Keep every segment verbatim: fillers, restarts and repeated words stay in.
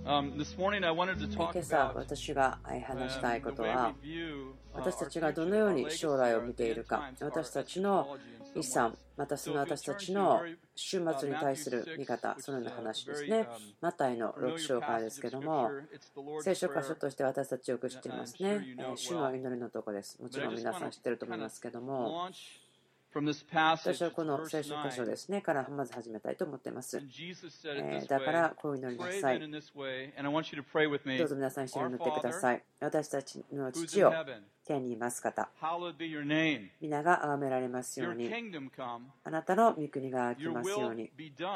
今朝私が話したいことは、私たちがどのように将来を見ているか、私たちの遺産、またその私たちの終末に対する見方、そのような話ですね。マタイのろく章からですけども、聖書箇所として私たちよく知っていますね。主の祈りのところです。もちろん皆さん知っていると思いますけども、私はこの聖書箇所ですねからまず始めたいと思っています。えー、だからこう祈りなさい。どうぞ皆さん一緒に祈ってください。私たちの父よ、天にいます方、皆が崇められますように、あなたの御国が来ますように、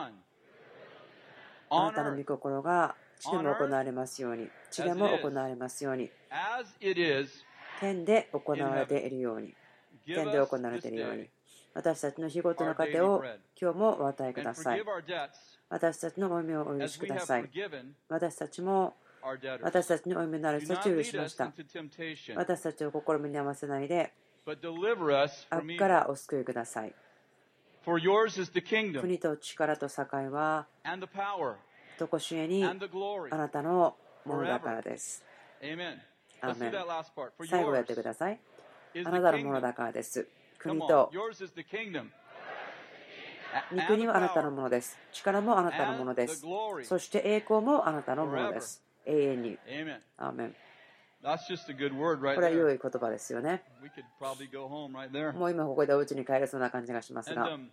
あなたの御心が地でも行われますように、地でも行われますように、天で行われているように、天で行われているように、私たちの日ごとの糧を今日もお与えください。私たちの負い目をお許しください。私たちも私たちの負い目のある人たちを許しました。私たちを試みに合わせないで、悪からお救いください。国と力と栄は、とこしえにあなたのものだからです。アーメン。最後やってください。あなたのものだからです。国と御国はあなたのものです。力もあなたのものです。そして栄光もあなたのものです。永遠に。アーメン。これは良い言葉ですよね。もう今ここでお家に帰れそうな感じがしますが、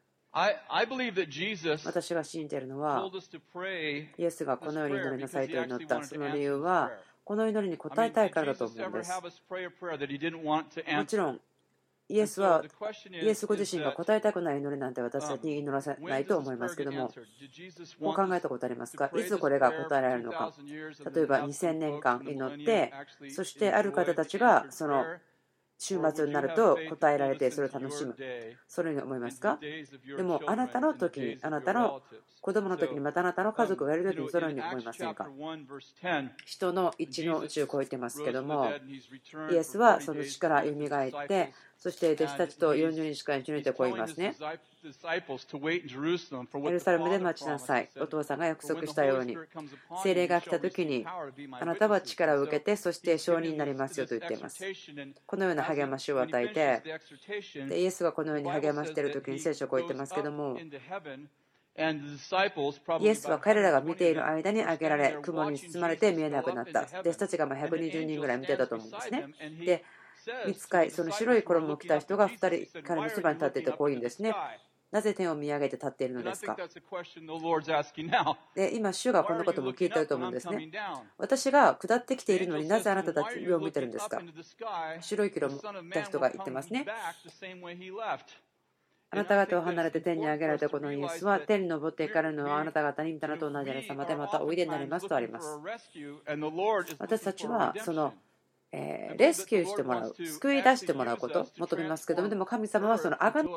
私が信じているのは、イエスがこのように祈りなさいと祈った。その理由は、この祈りに応えたいからだと思うんです。もちろん、イエスは、イエスご自身が答えたくない祈りなんて私たちに祈らせないと思いますけども、もう考えたことありますか？いつこれが答えられるのか。例えばにせんねんかん祈って、そしてある方たちがその週末になると答えられて、それを楽しむ。そのように思いますか？でも、あなたの時に、あなたの子供の時に、またあなたの家族がいる時に、そのように思いませんか？人の一の宇宙を超えてますけども、イエスはその死からよみがえって、そして弟子たちとよんじゅうにちかん一緒にいてこう言いますね。エルサレムで待ちなさい。お父さんが約束したように。聖霊が来た時に、あなたは力を受けて、そして証人になりますよと言っています。このような励ましを与えて、でイエスがこのように励ましている時に聖書をこう言ってますけども、イエスは彼らが見ている間に上げられ、雲に包まれて見えなくなった。弟子たちがまあひゃくにじゅうにんぐらい見てたと思うんですね。で、御使い、その白い衣を着た人がふたり彼のそばに立っていてこう言うんですね。なぜ天を見上げて立っているのですか？で、今、主がこのことも聞いていると思うんですね。私が下ってきているのになぜあなたたちを見ているんですか？白い衣を着た人が言ってますね。あなた方を離れて天に上げられたこのイエスは天に昇っていかれるのはあなた方に御霊と同じ様でまたおいでになりますとあります。私たちはそのえー、レスキューしてもらう、救い出してもらうことを求めますけども、でも神様はそのあがな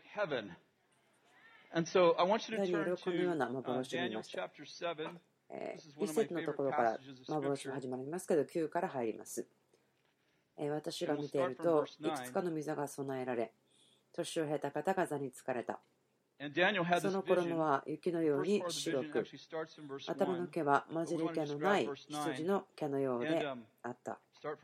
ダニエルはこのような幻を見ました。えー、一節のところから幻が始まりますけど、きゅうから入ります。えー、私が見ていると、いくつかの御座が備えられ、年を経た方が座に疲れた。その衣は雪のように白く、頭の毛は混じり気のない羊の毛のようであった。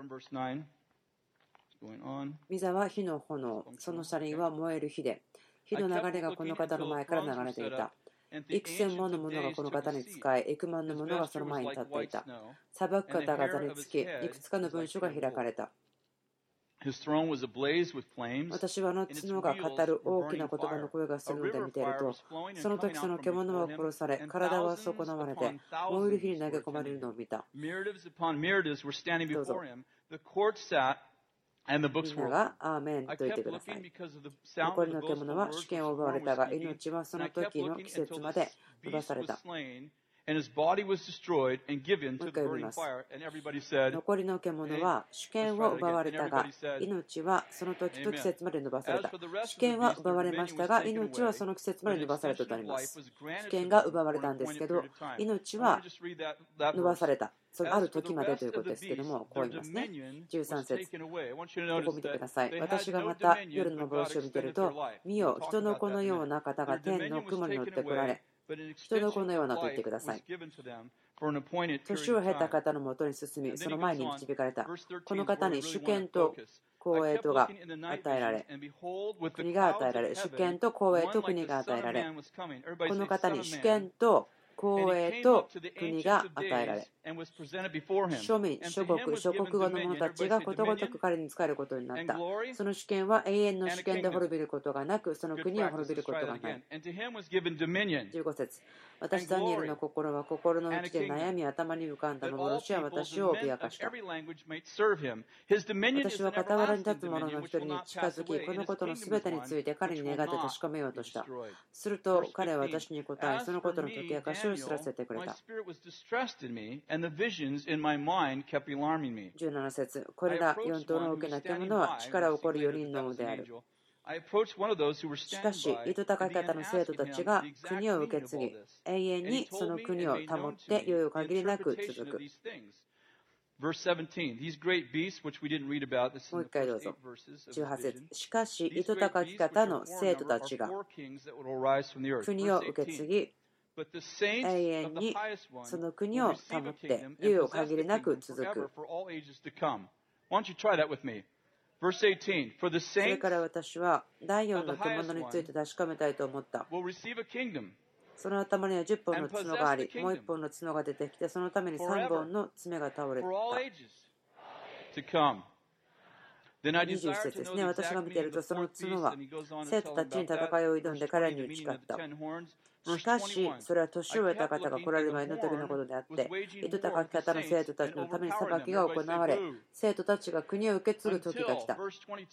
御座は火の炎、その車輪は燃える火で、火の流れがこの方の前から流れていた。幾千もの者がこの方に仕え、幾万の者がその前に立っていた。裁く方が座につき、いくつかの文書が開かれた。私はあの角が語る大きな言葉の声がするので見ていると、その時その獣は殺され、体は損なわれて、燃える火に投げ込まれるのを見た。どうぞ。みんながアーメンと言ってください。残りの獣は主権を奪われたが、命はその時の季節まで伸ばされた。もう一回読みます。残りの獣は主権を奪われたが、命はその時と季節まで伸ばされた。主権は奪われましたが、命はその季節まで伸ばされたとあります。主権が奪われたんですけど、命は伸ばされた。そのある時までということですけども、こう言いますね。じゅうさん節。ここ見てください。私がまた夜の幻を見ていると、見よ、人の子のような方が天の雲に乗ってこられ、人の子のようなと言ってください。 年を経た方のもとに進み、その前に導かれた。この方に主権と公栄とが与えられ、国が与えられ、主権と公栄と国が与えられ、この方に主権と公栄と国が与えられ、庶民、諸国、諸国語の者たちがことごとく彼に仕えることになった。その主権は永遠の主権で滅びることがなく、その国は滅びることがない。じゅうご節、私ダニエルの心は心の内で悩み、頭に浮かんだ幻は私を脅かした。私は傍らに立つ者の一人に近づき、このことのすべてについて彼に願って確かめようとした。すると彼は私に答え、そのことの解き明かしを知らせてくれた。じゅうなな節、これら四頭の大きな獣は力を起こるよにんのである。しかし、糸高き方の生徒たちが国を受け継ぎ、永遠にその国を保って猶予限りなく続く。もう一回どうぞ。じゅうはち節。しかし、糸高き方の生徒たちが国を受け継ぎ、永遠にその国を保って猶予限りなく続く。それから私は第四の獣について確かめたいと思った。その頭にはじゅっぽんの角があり、もういっぽんの角が出てきて、そのためにさんぼんの爪が倒れた。にじゅういち節ですね。私が見ていると、その角は生徒たちに戦いを挑んで彼らに打ち勝った。しかし、それは年を得た方が来られる前の時のことであって、糸高き方の生徒たちのために裁きが行われ、生徒たちが国を受け継ぐ時が来た。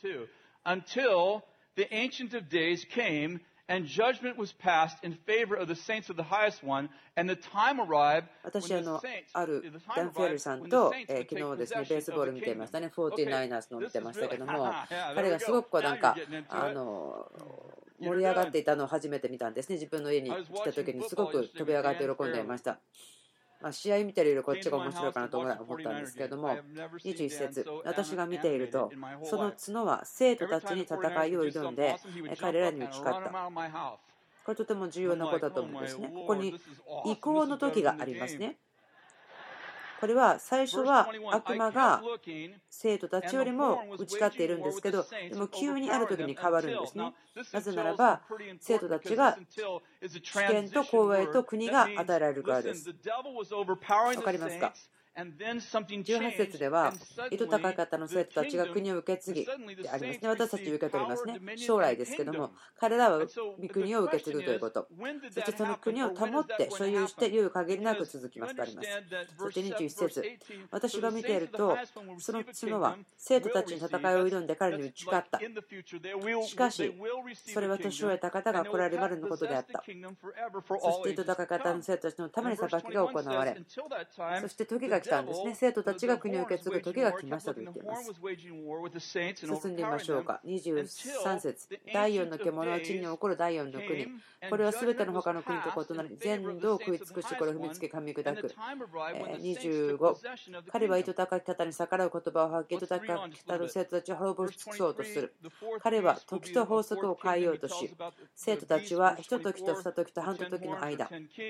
And judgment was passed in favor of the saints of the highest one, and the time arrived 私あのあるダン・フェルさんと、えー、昨日ですねベースボール見ていましたね。フォーティーナイナーズの見てましたけども、彼がすごくこうなんかあの盛り上がっていたのを初めて見たんですね。自分の家に来た時にすごく飛び上がって喜んでいました。まあ、試合見てるよりこっちが面白いかなと思ったんですけれども、にじゅういち節、私が見ていると、その角は生徒たちに戦いを挑んで、彼らに打ち勝った。これとても重要なことだと思うんですね。ここに移行の時がありますね。これは最初は悪魔が生徒たちよりも打ち勝っているんですけど、でも急にある時に変わるんですね。なぜならば生徒たちが主権と公栄と国が与えられるからです。わかりますか？じゅうはち節では、糸高い方の生徒たちが国を受け継ぎでありますね。私たち受け取りますね。将来ですけども、彼らは御国を受け継ぐということ。そしてその国を保って所有して猶予限りなく続きますとあります。そしてにじゅういち節、私が見ていると、その角は生徒たちに戦いを挑んで彼に打ち勝った。しかし、それは年を得た方が来られるまでのことであった。そして糸高い方の生徒たちのために裁きが行われ、そして時が来たんですね。生徒たちが国を受け継ぐ時が来ましたと言っています。進んでみましょうか。にじゅうさん節、第四の獣は地に起こる第四の国。これはすべての他の国と異なり、全土を食い尽くし、これを踏みつけ、噛み砕く。にじゅうご、彼は糸高き方に逆らう言葉を吐き、糸高き方の生徒たちを滅ぼし尽くそうとする。彼は時と法則を変えようとし、生徒たちは一時と二時と半時の間、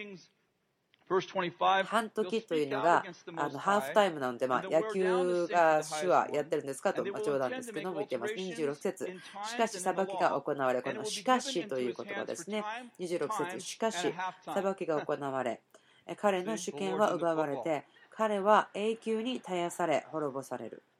半時というのがあのハーフタイムなので、まあ、野球が手話やってるんですかと、まあ、冗談ですけども言っています。にじゅうろく節、しかし裁きが行われ、このしかしという言葉ですね。にじゅうろく節、しかし裁きが行われ、彼の主権は奪われて、彼は永久に絶やされ滅ぼされる。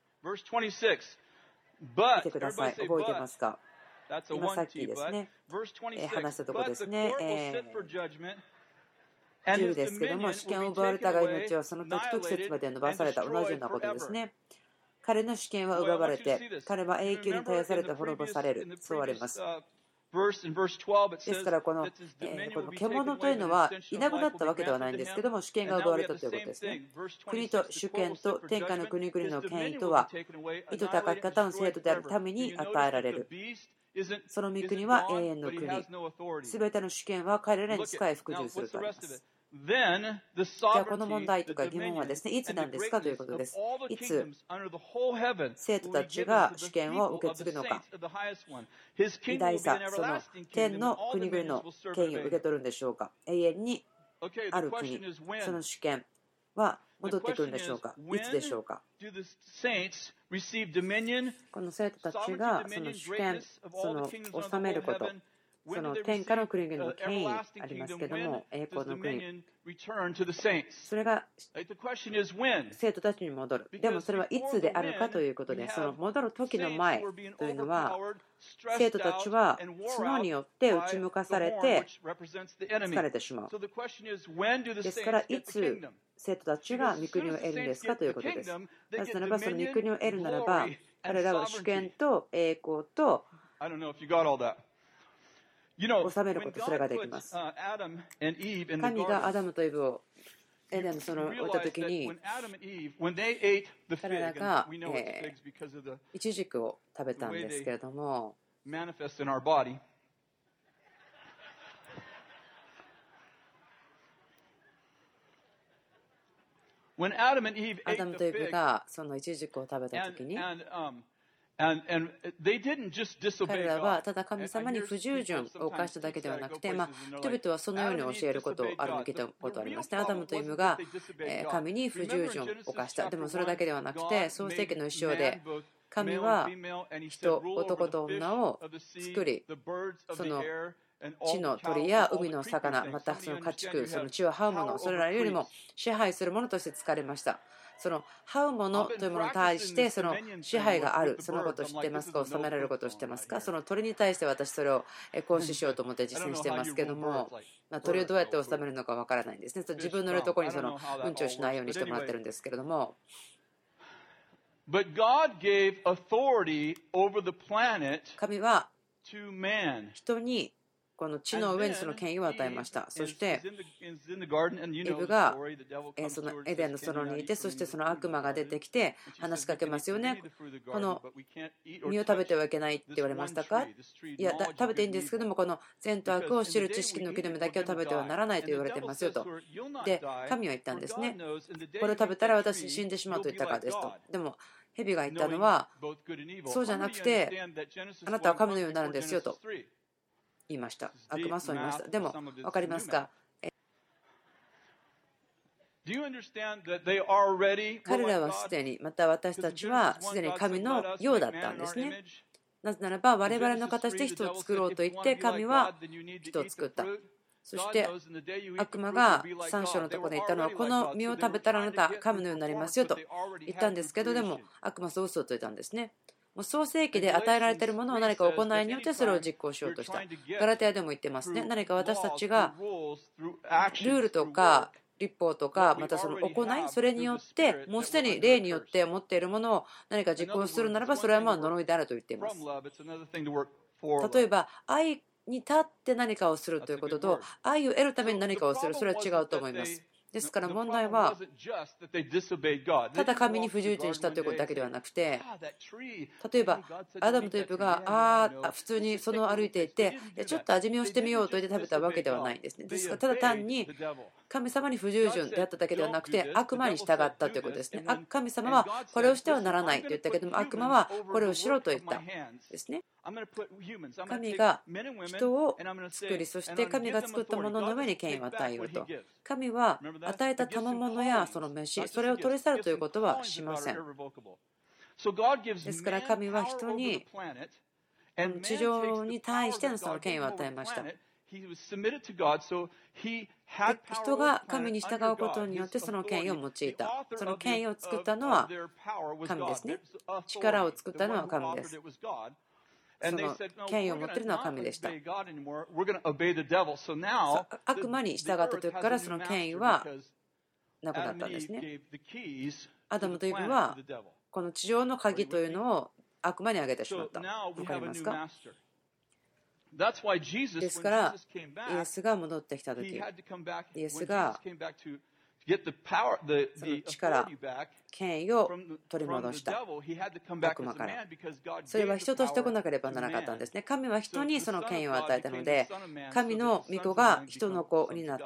見てください。覚えてますか？今さっきですね、話したところですね。えーじゅうですけども、主権を奪われたが命はその時と季節まで伸ばされた。同じようなことですね。彼の主権は奪われて、彼は永久に絶やされて滅ぼされる。そうあります。ですからこの、えー、この獣というのはいなくなったわけではないんですけども、主権が奪われたということですね。国と主権と天下の国々の権威とは、糸高き方の生徒であるために与えられる。その御国は永遠の国。すべての主権は彼らに仕え服従するとあります。じゃあこの問題とか疑問はですね、いつなんですかということです。いつ生徒たちが主権を受け継ぐのか、偉大さ、その天の国々の権威を受け取るんでしょうか。永遠にある国、その主権、 は戻ってくるんでしょうか。いつでしょうか。この生徒たちがその主権、その治めること、その天下の国々の権威ありますけども、栄光の国、それが生徒たちに戻る。でもそれはいつであるかということで、その戻る時の前というのは、生徒たちは角によって打ち向かされて疲れてしまう。ですから、いつ生徒たちが御国を得るんですかということです。なぜならば、その御国を得るならば、彼らは主権と栄光と治めること、それができます。神がアダムとイブをエデンの園に置いたときに、彼らが、えー、イチジクを食べたんですけれども、アダムとイブがそのイチジクを食べたときに、彼らはただ神様に不従順を犯しただけではなくて、まあ、人々はそのように教えることをあるの聞いたことありますね。アダムとイブが神に不従順を犯した。でもそれだけではなくて、創世記の一章で神は人、男と女を作り、その地の鳥や海の魚、またその家畜、その地を這うもの、それらよりも支配するものとして使われました。その這うものというものに対してその支配がある、そのことを知っていますか、治められることを知っていますか。その鳥に対して私それを行使しようと思って実践していますけども、まあ、鳥をどうやって治めるのかわからないんですね。自分のいるところにそのうんちをしないようにしてもらってるんですけれども、神は人にこの地の上にその権威を与えました。そしてイブがそのエデンの園にいて、そしてその悪魔が出てきて話しかけますよね。この実を食べてはいけないって言われましたか。いや、食べていいんですけども、この善と悪を知る知識の木の実だけを食べてはならないと言われてますよと。で、神は言ったんですね。これを食べたら私死んでしまうと言ったからですと。でも蛇が言ったのは、そうじゃなくてあなたは神のようになるんですよと言いました。悪魔はそう言いました。でも分かりますか。彼らはすでに、また私たちはすでに神のようだったんですね。なぜならば我々の形で人を作ろうと言って神は人を作った。そして悪魔がさん章のところで言ったのは、この実を食べたらあなた神のようになりますよと言ったんですけど、でも悪魔はそう嘘をついたんですね。もう創世記で与えられているものを何か行いによってそれを実行しようとした。ガラテヤでも言ってますね。何か私たちがルールとか立法とか、またその行い、それによってもうすでに霊によって持っているものを何か実行するならば、それはまあ呪いであると言っています。例えば愛に立って何かをするということと、愛を得るために何かをする、それは違うと思います。ですから問題はただ神に不従順したということだけではなくて、例えばアダムとイブがああ普通にその歩いていて、ちょっと味見をしてみようと言って食べたわけではないんですね。ですからただ単に神様に不従順であっただけではなくて、悪魔に従ったということですね。神様はこれをしてはならないと言ったけども、悪魔はこれをしろと言ったですね。神が人を作り、そして神が作ったものの上に権威を与えようと。神は与えた賜物やその飯、それを取り去るということはしません。ですから神は人に地上に対してのその権威を与えました。人が神に従うことによってその権威を用いた。その権威を作ったのは神ですね。力を作ったのは神です。その権威を持っているのは神でした。悪魔に従った時からその権威はなくなったんですね。アダムとイブはこの地上の鍵というのを悪魔にあげてしまった。分かりますか。ですからイエスが戻ってきた時、イエスがその力、権威を取り戻した悪魔から。それは人としてこなければならなかったんですね。神は人にその権威を与えたので、神の御子が人の子になった。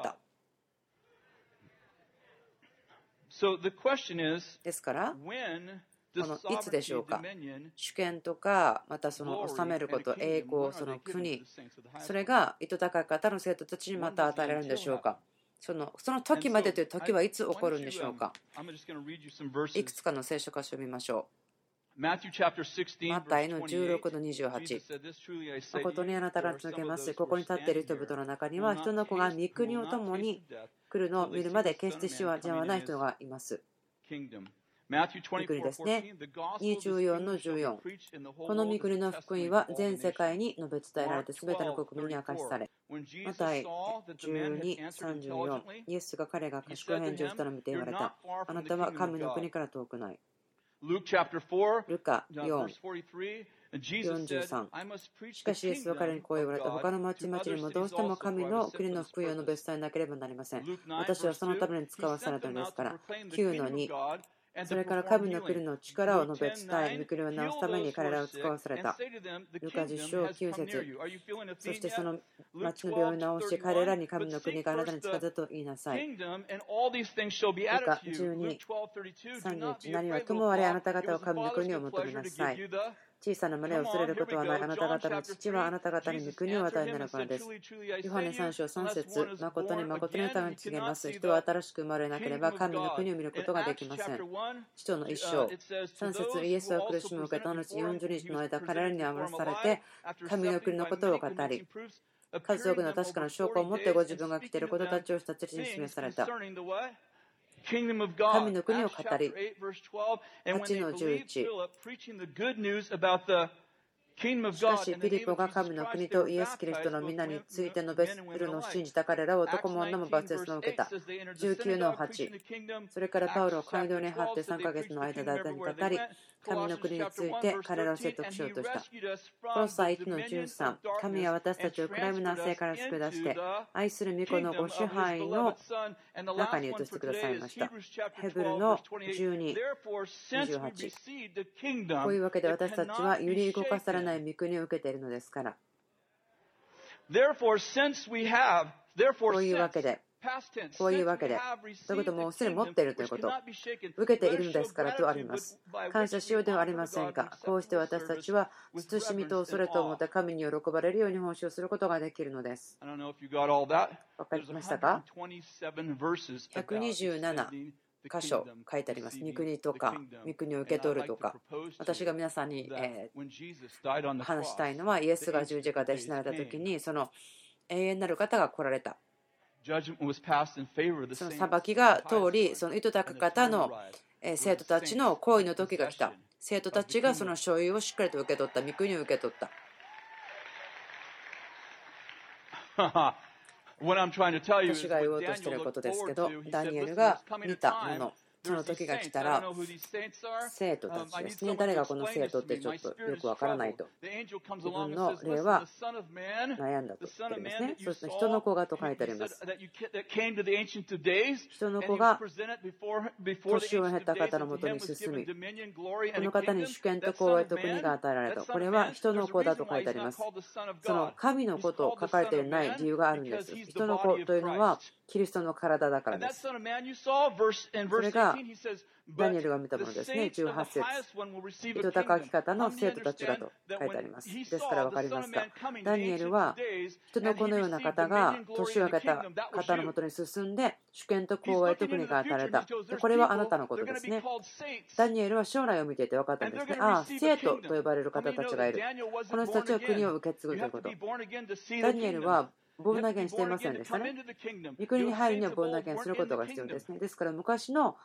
ですからこのいつでしょうか。主権とか、またその治めること、栄光、その国、それが糸高い方の生徒たちにまた与えられるんでしょうか。 そのその時までという時はいつ起こるんでしょうか。いくつかの聖書箇所を見ましょう。マタイのじゅうろくのにじゅうはち。誠にあなたが告げます。ここに立っている人々の中には、人の子が御国を共に来るのを見るまで決して死はじゃない人がいます。御国ですね。にじゅうよんのじゅうよん。この御国の福音は全世界に述べ伝えられて、すべての国民に明かしされ。マタイじゅうに、さんじゅうよん。イエスが彼が賢い返事をしたのを見て言われた。あなたは神の国から遠くない。ルカよん、よんじゅうさん。しかしイエスは彼にこう言われた。他の町々にもどうしても神の国の福音を述べ伝えなければなりません。私はそのために使わされたのですから。きゅうのに。それから神の国の力を述べ伝え、御国を直すために彼らを使わされた。ルカじゅっ章きゅう節。そしてその町の病院を治し、彼らに神の国があなたに近づくと言いなさい。ルカじゅうに、さんじゅういち。何はともあれあなた方は神の国を求めなさい。小さな胸を恐れることはない。あなた方の父はあなた方に御国を与えになるからです。ヨハネさん章さん節。誠に誠にあなたが告げます。人は新しく生まれなければ神の国を見ることができません。使徒の一章さん節。イエスは苦しみを受けた後よんじゅうにちの間、彼らに合わされて神の国のことを語り、数多くの確かな証拠を持ってご自分が来ていることたちを人たちに示された。神の国を語り、はちのじゅういち。しかし、ピリポが神の国とイエス・キリストの皆について述べるのを信じた彼らは男も女もバプテスマを受けた。じゅうきゅうのはち。それからパウロを街道に張ってさんかげつの間、大胆に語り、神の国について彼らを説得しようとした。コロサイいちのじゅうさん。神は私たちを暗闇の世から救い出して、愛する御子のご支配の中に移してくださいました。ヘブルのじゅうに、にじゅうはち。こういうわけで私たちは揺り動かされない御国を受けているのですから。こういうわけで、こういうわけで、ということもすでに持っているということ、受けているのですからとあります。感謝しようではありませんか。こうして私たちは慎みと恐れと思って神に喜ばれるように奉仕をすることができるのです。わかりましたか。ひゃくにじゅうなな箇所書いてあります。御国とか、御国を受け取るとか。私が皆さんに、えー、話したいのは、イエスが十字架で死なれた時に、その永遠なる方が来られた。その裁きが通り、その意図高か方の生徒たちの行為の時が来た。生徒たちがその所有をしっかりと受け取った。御国を受け取った。私が言おうとしていることですけど、ダニエルが見たもの、その時が来たら、生徒たちですね。誰がこの生徒ってちょっとよくわからないと。自分の霊は悩んだと言ってるんですね。そして人の子がと書いてあります。人の子が年を経た方のもとに進み、この方に主権と光栄と国が与えられた。これは人の子だと書いてあります。その神の子と書かれていない理由があるんです。人の子というのはキリストの体だからです。それがダニエルが見たものですね。じゅうはち節。意図高き方の生徒たちがと書いてあります。ですから分かりますか。ダニエルは人の子のような方が年を明けた方のもとに進んで主権と光栄と国が与えられた。でこれはあなたのことですね。ダニエルは将来を見ていて分かったんですね。ああ、生徒と呼ばれる方たちがいる。この人たちは国を受け継ぐということ。ダニエルはボーナゲンしていませんでしたね。御国に入るにはボーナゲンすることが必要ですね。ですから昔の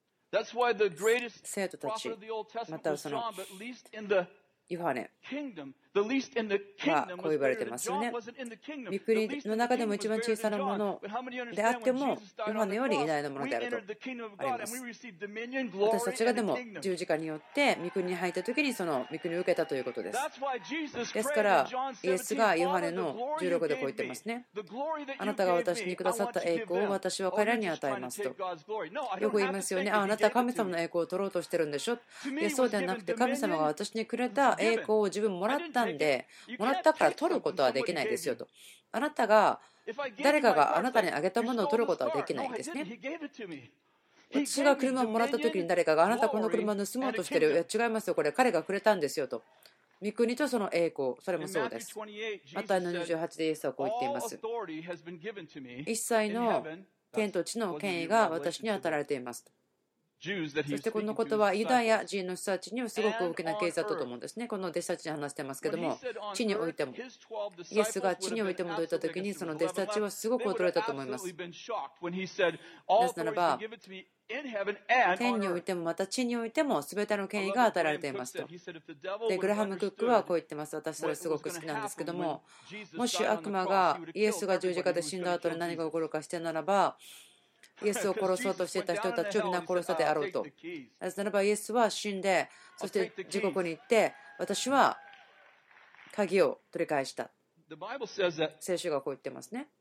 生徒たち、またはそのヨハネはこう言われてますよね。御国の中でも一番小さなものであっても、ヨハネより偉大なものであるとあります。私たちがでも十字架によって御国に入ったときにその御国を受けたということです。ですから、イエスがヨハネのじゅうろくでこう言ってますね。あなたが私にくださった栄光を私は彼らに与えますと。よく言いますよね。あ、あなたは神様の栄光を取ろうとしてるんでしょ。いや、そうではなくて、神様が私にくれた栄光を自分もらったんで、もらったから取ることはできないですよと。あなたが誰かがあなたにあげたものを取ることはできないんですね。私が車をもらった時に誰かがあなたこの車を盗もうとしてる。いや違いますよ、これ彼がくれたんですよと。御国とその栄光、それもそうです。マタイのにじゅうはちでイエスはこう言っています。一切の天と地の権威が私に与えられていますと。そしてこのことはユダヤ人の人たちにはすごく大きな啓示だったと思うんですね。この弟子たちに話してますけども、地においても、イエスが地においてもといったときに、その弟子たちはすごく驚いたと思います。なぜならば、天においてもまた地においても全ての権威が与えられていますと。で、グラハム・クックはこう言ってます。私それすごく好きなんですけども、もし悪魔がイエスが十字架で死んだ後に何が起こるかしてならば、イエスを殺そうとしていた人たちを皆殺したであろうと。なぜならばイエスは死んで、そして地獄に行って、私は鍵を取り返した。聖書がこう言ってますね。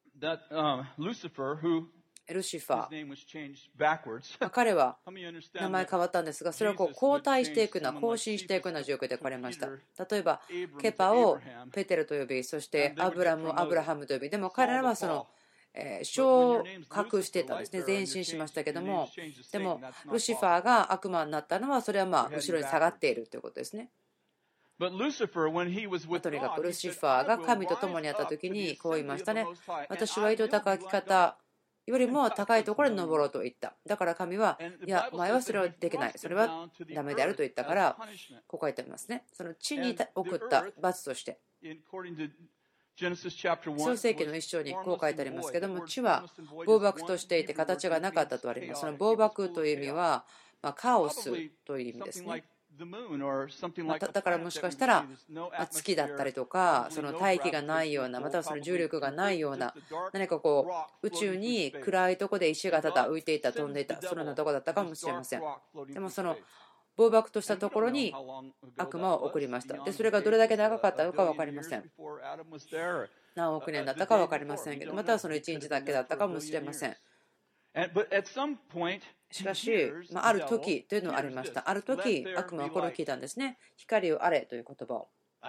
ルシファー、彼は名前変わったんですが、それはこう後退していくような、更新していくような状況で書かれました。例えば、ケパをペテルと呼び、そしてアブラムをアブラハムと呼び、でも彼らはその昇格していたんですね。前進しましたけども、でもルシファーが悪魔になったのは、それはまあ後ろに下がっているということですね。とにかくルシファーが神と共にあった時にこう言いましたね。私は井戸高き方よりも高いところに登ろうと言った。だから神は、いや、お前はそれはできない。それはダメであると言ったから、ここ書いてありますね。その地に送った罰として。創世記の一章にこう書いてありますけども、地は暴漠としていて形がなかったとあります。その暴漠という意味は、まあ、カオスという意味ですね。まただからもしかしたら月だったりとか、その大気がないような、またはその重力がないような、何かこう宇宙に暗いところで石がただ浮いていた、飛んでいた、そのようなところだったかもしれません。でもその暴漠としたところに悪魔を送りました。でそれがどれだけ長かったのか分かりません。何億年だったか分かりませんけど、またはそのいちにちだけだったかもしれません。しかし、まあ、ある時というのはありました。ある時、悪魔はこれを聞いたんですね。光をあれという言葉を。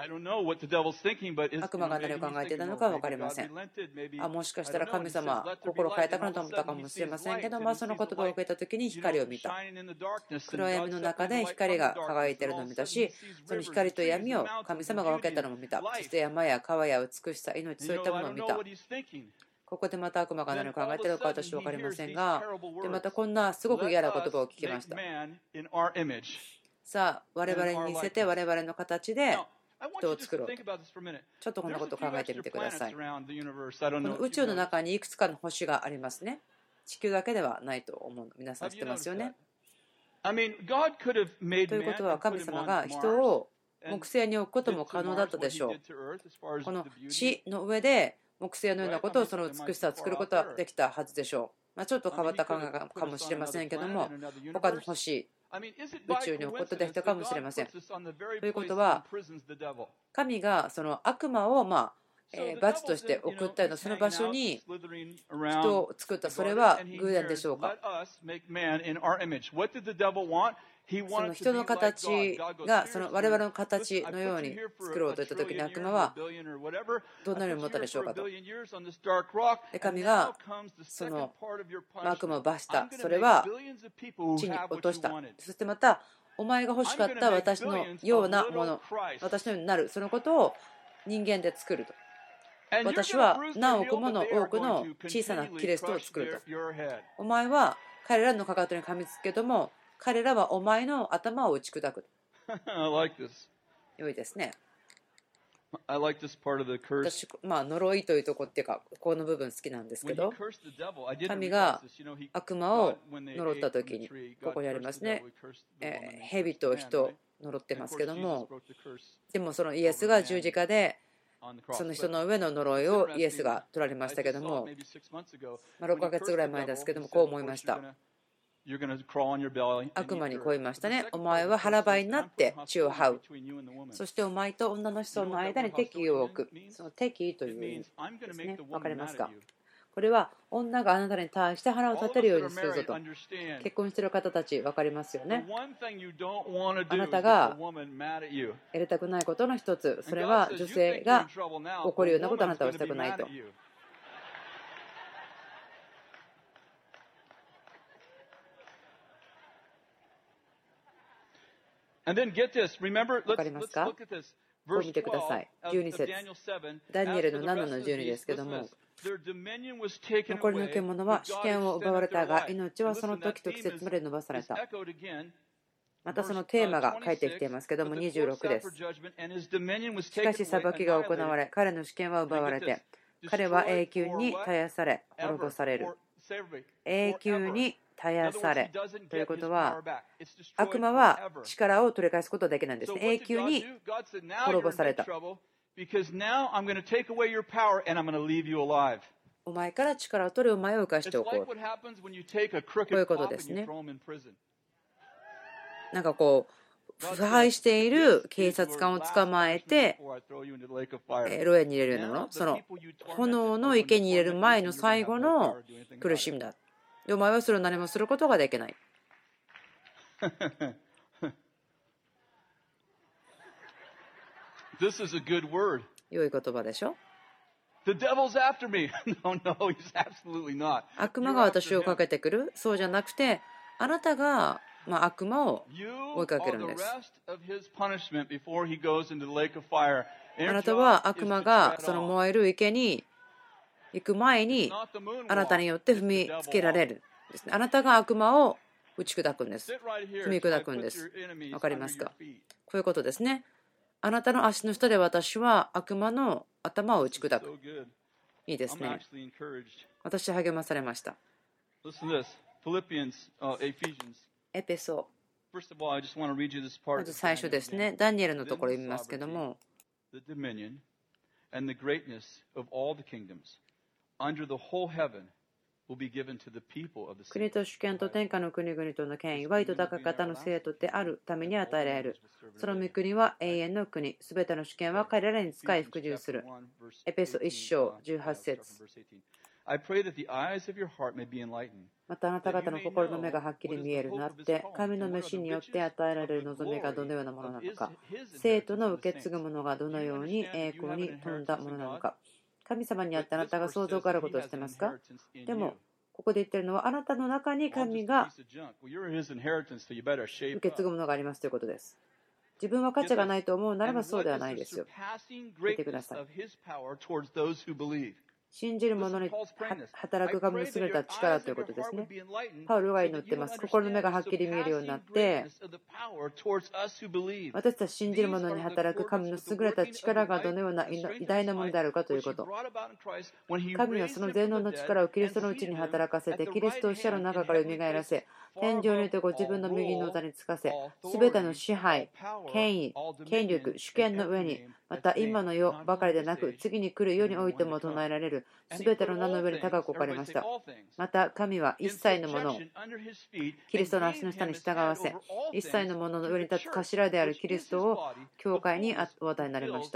悪魔が何を考えていたのか分かりません。あもしかしたら神様は心を変えたかなと思ったかもしれませんけど、まあ、その言葉を受けた時に光を見た。暗闇の中で光が輝いているのを見たし、その光と闇を神様が分けたのも見た。そして山や川や美しさ、命、そういったものを見た。ここでまた悪魔が何を考えているのか私は分かりませんが、でまたこんなすごく嫌な言葉を聞きました。さあ、我々に似せて我々の形で人を作ろうと。ちょっとこんなことを考えてみてください。この宇宙の中にいくつかの星がありますね。地球だけではないと思う。皆さん知ってますよね。ということは神様が人を木星に置くことも可能だったでしょう。この地の上で木星のようなことをその美しさを作ることはできたはずでしょう。まあ、ちょっと変わった考えかもしれませんけども、他の星、宇宙に置くことできたかもしれません。ということは、神がその悪魔をまあえ罰として送ったようなその場所に人を作った、それは偶然でしょうか。その人の形がその我々の形のように作ろうといったときに悪魔はどんなように思ったでしょうかと。で神がその悪魔を罰した。それは地に落とした。そしてまたお前が欲しかった私のようなもの、私のようになる、そのことを人間で作ると。私は何億もの多くの小さなキリストを作ると。お前は彼らのかかとに噛みつくけども、彼らはお前の頭を打ち砕く。良いですね。私、まあ、呪いというところっていうか、この部分好きなんですけど、神が悪魔を呪ったときに、ここにありますね、えー、蛇と人を呪ってますけども、でもそのイエスが十字架で、その人の上の呪いをイエスが取られましたけども、まあ、ろっかげつぐらい前ですけども、こう思いました。悪魔にこう言いましたね。お前は腹ばいになって血を這う。そしてお前と女の子孫の間に敵意を置く。その敵意という意味ですね。わかりますか？これは女があなたに対して腹を立てるようにするぞと。結婚している方たち分かりますよね。あなたがやりたくないことの一つ、それは女性が怒るようなことをあなたはしたくないと。分かりますか？こう見てください。じゅうに節、ダニエルのななのじゅうにですけども、 残りの獣は主権を奪われたが、命はその時と季節まで伸ばされた。またそのテーマが書いてきていますけども、にじゅうろくです。しかし裁きが行われ、彼の主権は奪われて、彼は永久に絶やされ、滅ぼされる。永久に絶やされということは、悪魔は力を取り返すことはできないんですね。永久に滅ぼされた。お前から力を取り、お前を生かしておこう。こういうことですね。なんかこう、腐敗している警察官を捕まえて、牢屋に入れるようなもの、その炎の池に入れる前の最後の苦しみだ。で、お前はそれを何もすることができない。良い言葉でしょ。悪魔が私をかけてくる？そうじゃなくて、あなたがまあ、悪魔を追いかけるんです。あなたは悪魔がその燃える池に行く前にあなたによって踏みつけられるですね。あなたが悪魔を打ち砕くんです。踏み砕くんです。わかりますか？こういうことですね。あなたの足の下で私は悪魔の頭を打ち砕く。いいですね。私は励まされました。エペソ、まず最初ですね、ダニエルのところを読みますけども、国と主権と天下の国々との権威は糸高き方の生徒であるために与えられる。その御国は永遠の国、すべての主権は彼らに使い服従する。エペソいっ章じゅうはち節。またあなた方の心の目がはっきり見えるようになって、神の召しによって与えられる望みがどのようなものなのか、生徒の受け継ぐものがどのように栄光に富んだものなのか、神様にあってあなたが想像があることをしてますか？でも、ここで言っているのは、あなたの中に神が受け継ぐものがありますということです。自分は価値がないと思うならばそうではないですよ。聞いてください。信じる者に働く神の優れた力ということですね。パウロが祈っています。心の目がはっきり見えるようになって、私たち信じる者に働く神の優れた力がどのような偉大なものであるかということ。神はその全能の力をキリストのうちに働かせて、キリストを死者の中から蘇らせ、天上においてご自分の右の座につかせ、すべての支配、権威、権力、主権の上に、また今の世ばかりでなく、次に来る世においても唱えられる、すべての名の上に高く置かれました。また神は一切のものをキリストの足の下に従わせ、一切のものの上に立つ頭であるキリストを教会にお与えになりました。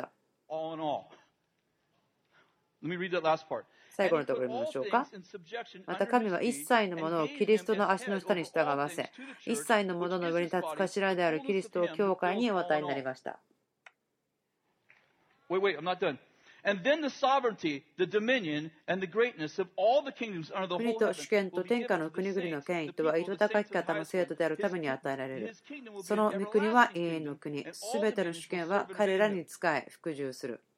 最後のところを見ましょうか。また神は一切のものをキリストの足の下に従わせ、一切のものの上に立つ頭であるキリストを教会にお与えになりました。 Wait, wait, I'm not done. And then the sovereignty, the dominion, and the greatness of all the kingdoms under the whole 国と主権と天下の国々の権威とは、糸高き方の生徒であるために与えられる。その御国は永遠の国。すべての主権は彼らに仕え、服従する。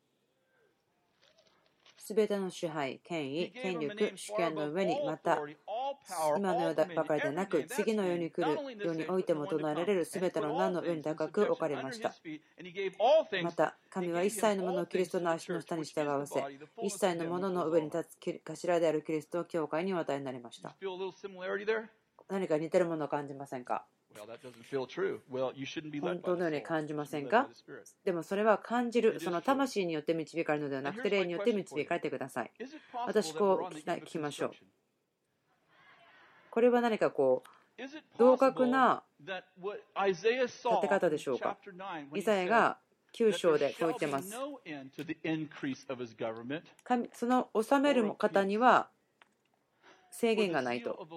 すべての支配、権威、権力、主権の上に、また今の世ばかりでなく、次の世に来る世においても唱えられるすべての名の上に高く置かれました。また、神は一切のものをキリストの足の下に従わせ、一切のものの上に立つ頭であるキリストを教会にお与えになりました。何か似てるものを感じませんか？本当のように感じませんか？でもそれは感じる、その魂によって導かれるのではなくて、霊によって導かれてください。私、こう聞きましょう。これは何かこう、同格な立て方でしょうか？イザヤがきゅう章でこう言っています。神、その治める方には制限がないと。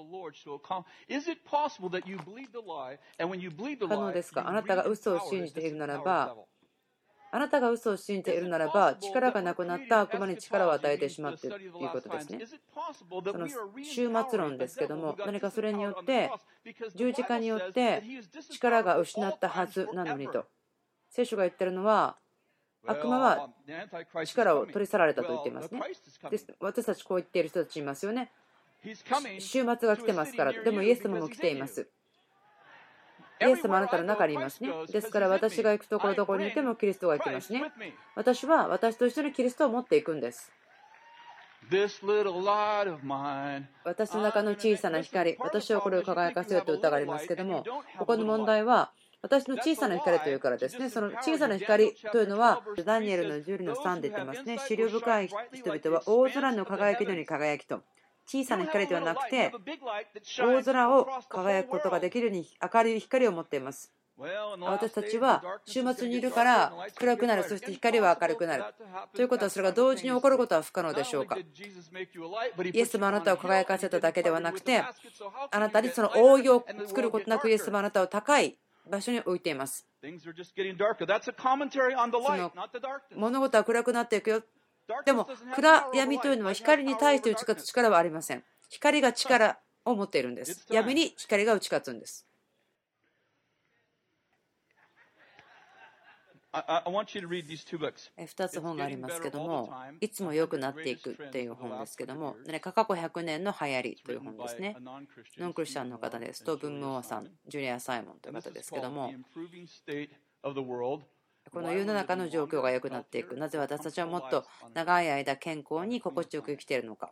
可能ですか？あなたが嘘を信じているならば、あなたが嘘を信じているならば、力がなくなった悪魔に力を与えてしまっているということですね。その終末論ですけども、何かそれによって、十字架によって力が失ったはずなのにと。聖書が言ってるのは、 悪魔は力を取り去られたと言っていますね。です。私たちこう言っている人たちいますよね。週末が来てますから。でもイエス様も来ています。イエス様あなたの中にいますね。ですから私が行くところどころにいてもキリストが行きますね。私は私と一緒にキリストを持っていくんです。私の中の小さな光、私はこれを輝かせようという歌がありますけども、ここの問題は私の小さな光というからですね。その小さな光というのはダニエルのじゅうのさんで言ってますね。思慮深い人々は大空の輝きのように輝きと。小さな光ではなくて大空を輝くことができるように明るい光を持っています。私たちは週末にいるから暗くなる、そして光は明るくなるということは、それが同時に起こることは不可能でしょうか。イエス様あなたを輝かせただけではなくて、あなたにその覆いを作ることなくイエス様あなたを高い場所に置いています。その物事は暗くなっていくよ。でも暗闇というのは光に対して打ち勝つ力はありません。光が力を持っているんです。闇に光が打ち勝つんです。ふたつ本がありますけども、いつも良くなっていくという本ですけども、過去ひゃくねんの流行りという本ですね。ノンクリスチャンの方ですと、ブンムオーさん、ジュリア・サイモンという方ですけども、この世の中の状況が良くなっていく。なぜ私たちはもっと長い間健康に心地よく生きているのか。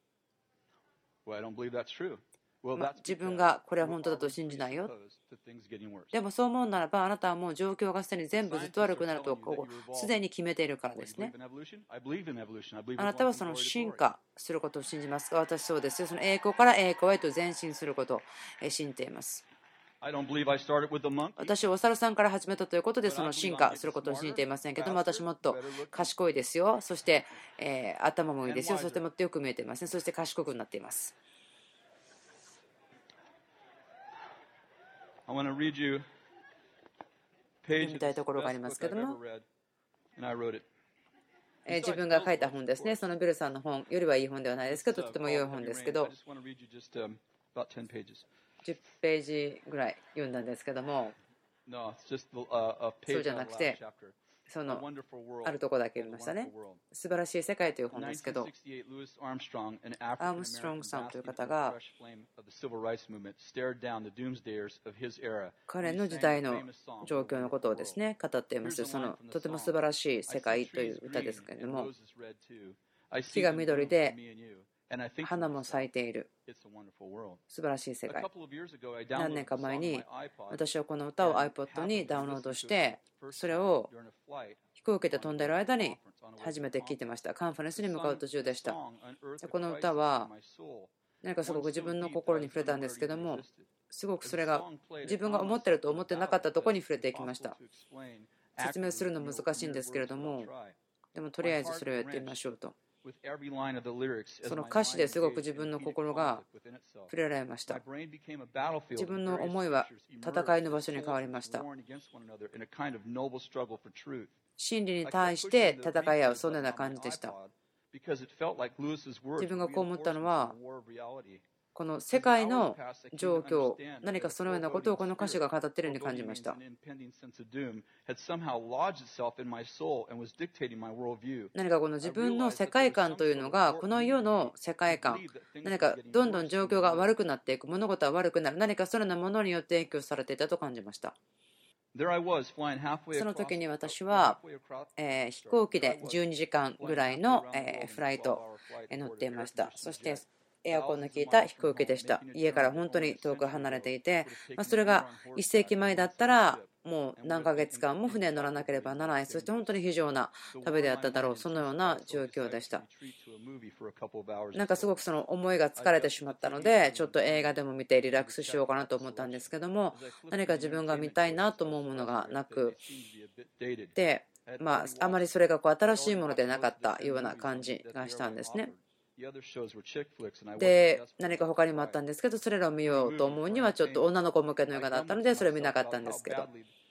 まあ、自分がこれは本当だと信じないよ。でもそう思うならば、あなたはもう状況がすでに全部ずっと悪くなるとすでに決めているからですね。あなたはその進化することを信じますか。私そうですよ。その栄光から栄光へと前進することを信じています。私はお猿さんから始めたということで、その進化することを信じていませんけども、私もっと賢いですよ。そして、えー、頭もいいですよ。そしてもっとよく見えていますね。そして賢くなっています。読みたいところがありますけども、えー、自分が書いた本ですね。そのビルさんの本よりはいい本ではないですけど、とても良い本ですけど、じゅっページぐらい読んだんですけども、そうじゃなくて、そのあるところだけ読みましたね。素晴らしい世界という本ですけど、アームストロングさんという方が彼の時代の状況のことをですね語っています。そのとても素晴らしい世界という歌ですけれども、木が緑で花も咲いている素晴らしい世界。何年か前に私はこの歌を iPod にダウンロードして、それを飛行機で飛んでいる間に初めて聴いてました。カンファレンスに向かう途中でした。この歌は何かすごく自分の心に触れたんですけども、すごくそれが自分が思っていると思ってなかったところに触れていきました。説明するの難しいんですけれども、でもとりあえずそれをやってみましょうと。その歌詞ですごく自分の心が触れられました。自分の思いは戦いの場所に変わりました。真理に対して戦い合う、そんなような感じでした。自分がこう思ったのは、この世界の状況、何かそのようなことをこの歌詞が語っているように感じました。何かこの自分の世界観というのが、この世の世界観、何かどんどん状況が悪くなっていく、物事は悪くなる、何かそのようなものによって影響されていたと感じました。その時に私は、えー、飛行機でじゅうにじかんぐらいの、えー、フライトに乗っていました。そしてエアコンの効いた飛行機でした。家から本当に遠く離れていて、まあ、それがいっせいきまえだったらもう何ヶ月間も船に乗らなければならない、そして本当に非常な旅であっただろう、そのような状況でした。なんかすごくその思いが疲れてしまったので、ちょっと映画でも見てリラックスしようかなと思ったんですけども、何か自分が見たいなと思うものがなくで、まあ、あまりそれがこう新しいものでなかったような感じがしたんですね。で、何か他にもあったんですけど、それらを見ようと思うにはちょっと女の子向けの映画だったので、それを見なかったんですけど、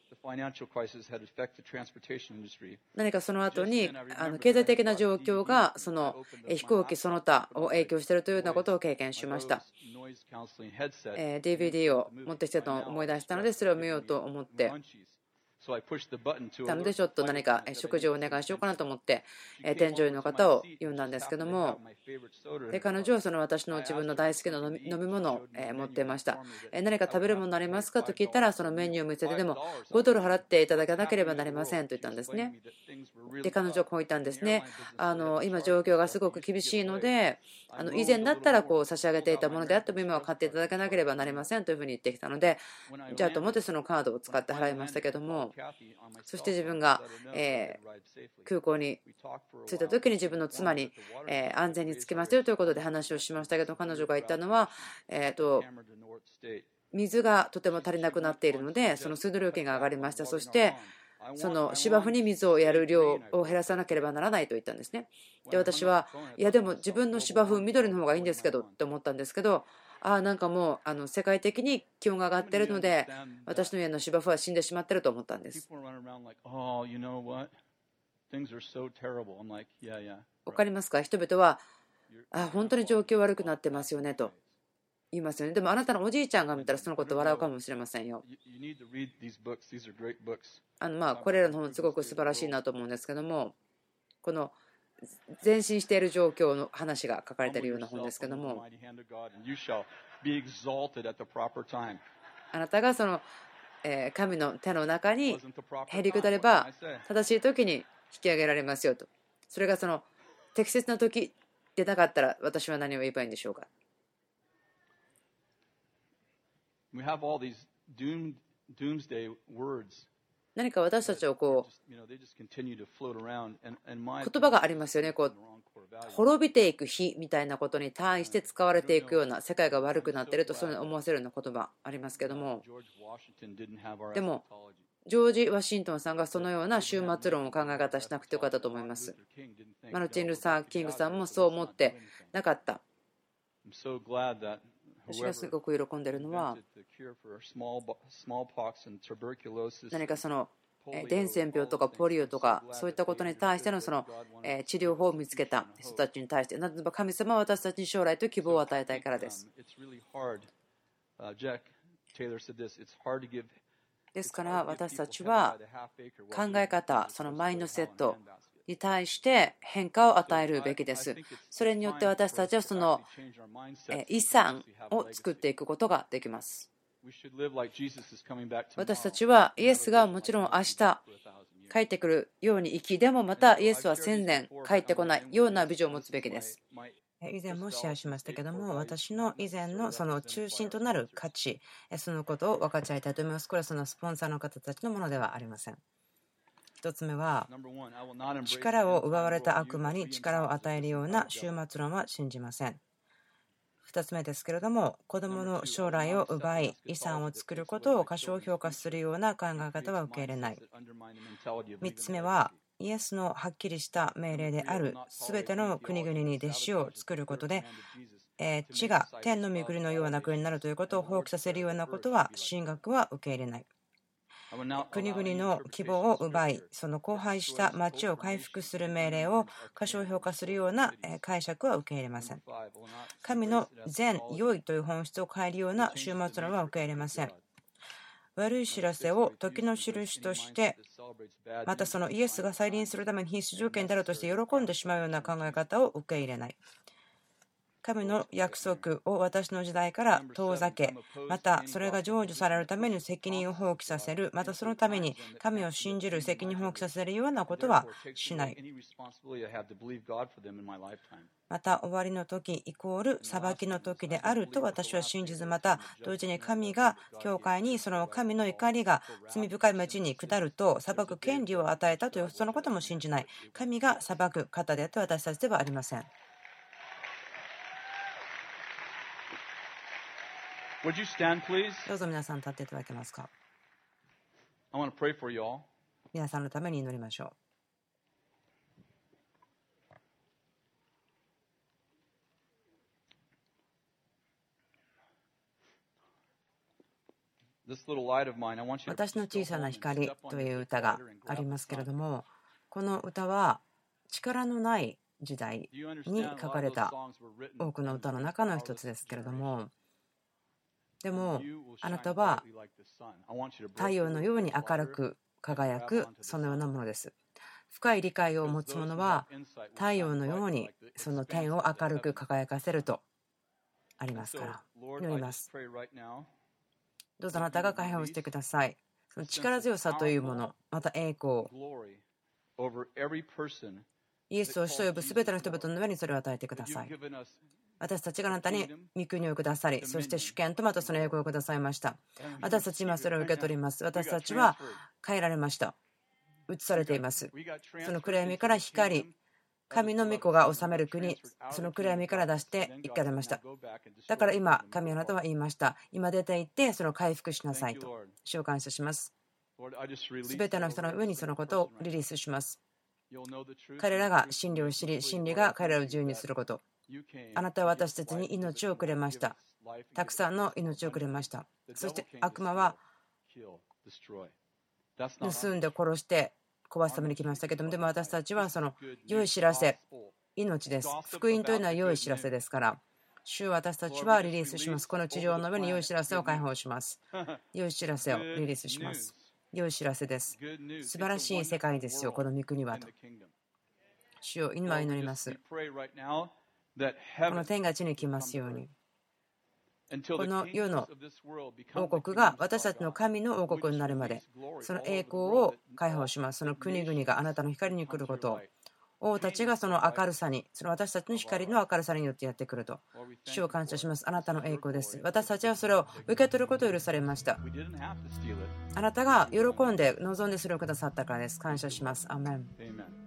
何かその後にあの経済的な状況がその飛行機その他を影響しているというようなことを経験しました。ディーブイディー を持ってきたと思い出したので、それを見ようと思ってなのでちょっと何か食事をお願いしようかなと思って添乗員の方を呼んだんですけども、で彼女はその私の自分の大好きな飲み飲み物を持っていました。何か食べるものありますかと聞いたら、そのメニューを見せて、でもごドル払っていただかなければなりませんと言ったんですね。で彼女はこう言ったんですね。あの今状況がすごく厳しいので、あの以前だったらこう差し上げていたものであっても今は買っていただかなければなりませんというふうに言ってきたので、じゃあと思ってそのカードを使って払いましたけども、そして自分がえ空港に着いた時に自分の妻にえ安全に着きましたよということで話をしましたけど、彼女が言ったのはえっと水がとても足りなくなっているので、その水道料金が上がりました。そしてその芝生に水をやる量を減らさなければならないと言ったんですね。で私はいやでも自分の芝生緑の方がいいんですけどって思ったんですけど、ああなんかもうあの世界的に気温が上がっているので私の家の芝生は死んでしまっていると思ったんです。わかりますか？人々はあ本当に状況悪くなってますよねと言いますよね。でもあなたのおじいちゃんが見たらそのこと笑うかもしれませんよ。あのまあこれらの本すごく素晴らしいなと思うんですけども、この前進している状況の話が書かれているような本ですけども、あなたがその神の手の中にへりくだれば正しい時に引き上げられますよと。それがその適切な時でなかったら私は何を言えばいいんでしょうか。何か私たちをこう言葉がありますよね。こう滅びていく日みたいなことに対して使われていくような、世界が悪くなっているとそう思わせるような言葉ありますけども、でもジョージ・ワシントンさんがそのような終末論を考え方しなくてよかったと思います。マルチン・ルサー・キングさんもそう思ってなかった。私がすごく喜んでいるのは、何かその伝染病とかポリオとかそういったことに対してのその治療法を見つけた人たちに対して、なぜなら神様は私たちに将来と希望を与えたいからです。ですから私たちは考え方、そのマインドセットに対して変化を与えるべきです。それによって私たちはその遺産を作っていくことができます。私たちはイエスがもちろん明日帰ってくるように生き、でもまたイエスは千年帰ってこないようなビジョンを持つべきです。以前もシェアしましたけども、私の以前のその中心となる価値、そのことを分かち合いたいと思います。これはそのスポンサーの方たちのものではありません。一つ目は、力を奪われた悪魔に力を与えるような終末論は信じません。ふたつめですけれども、子どもの将来を奪い遺産を作ることを過小評価するような考え方は受け入れない。みっつめは、イエスのはっきりした命令であるすべての国々に弟子を作ることで、え地が天の御国のような国になるということを放棄させるようなことは神学は受け入れない。国々の希望を奪い、その荒廃した町を回復する命令を過小評価するような解釈は受け入れません。神の善、良いという本質を変えるような終末論は受け入れません。悪い知らせを時の印として、またそのイエスが再臨するために必須条件であるとして喜んでしまうような考え方を受け入れない。神の約束を私の時代から遠ざけ、またそれが成就されるために責任を放棄させる、またそのために神を信じる責任を放棄させるようなことはしない。また終わりの時イコール裁きの時であると私は信じず、また同時に神が教会にその神の怒りが罪深い町に下ると裁く権利を与えたというそのことも信じない。神が裁く方であって私たちではありません。どうぞ皆さん立っていただけますか。皆さんのために祈りましょう。私の小さな光という歌がありますけれども、この歌は力のない時代に書かれた多くの歌の中の一つですけれども、でもあなたは太陽のように明るく輝く、そのようなものです。深い理解を持つ者は太陽のようにその天を明るく輝かせるとありますから、祈ります。どうぞあなたが解放してください。その力強さというもの、また栄光、イエスを主と呼ぶすべての人々の上にそれを与えてください。私たちがあなたに御国をくださり、そして主権とまたその栄光をくださいました。私たち今それを受け取ります。私たちは変えられました。移されています。その暗闇から光、神の御子が治める国、その暗闇から出していかれました。だから今、神あなたは言いました。今出て行って、その回復しなさいと。主を感謝します。すべての人の上にそのことをリリースします。彼らが真理を知り、真理が彼らを自由にすること。あなたは私たちに命をくれました。たくさんの命をくれました。そして悪魔は盗んで殺して壊すために来ましたけども、でも私たちはその良い知らせ、命です。福音というのは良い知らせですから、主は私たちはリリースします。この地上の上に良い知らせを解放します。良い知らせをリリースします。良い知らせです。素晴らしい世界ですよ、この御国はと。主を今祈ります。この天が地に来ますように。この世の王国が私たちの神の王国になるまで、その栄光を解放します。その国々があなたの光に来ることを、王たちがその明るさに、その私たちの光の明るさによってやってくると。主を感謝します。あなたの栄光です。私たちはそれを受け取ることを許されました。あなたが喜んで望んでそれをくださったからです。感謝します。アーメン。